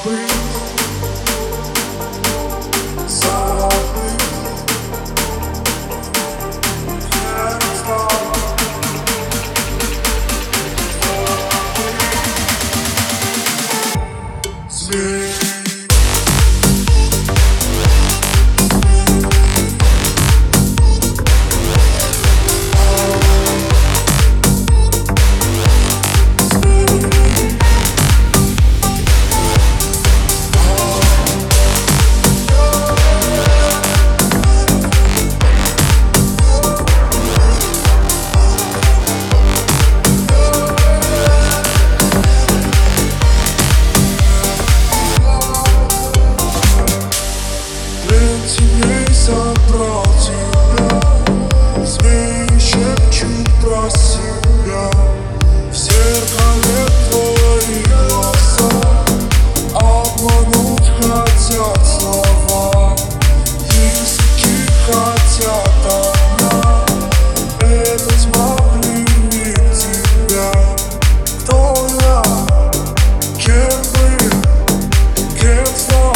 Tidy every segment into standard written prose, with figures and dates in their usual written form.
Собрал тебя, змеи шепчут про себя. В зеркале твои глаза обмануть хотят слова. Языки хотят одна, это тьма пленит тебя. Кто я? Кем был? Кем стал?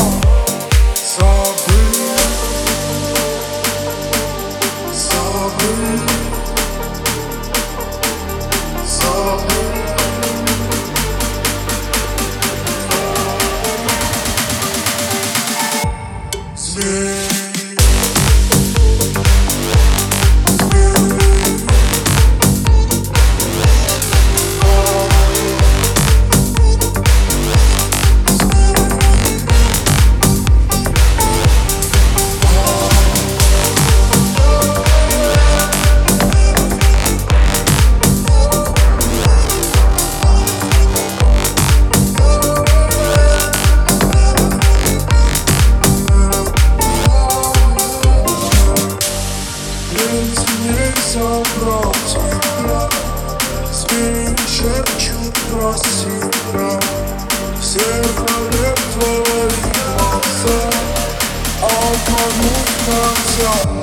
Собрал тебя, змеи шепчут про себя. В зеркале твои глаза обмануть хотят.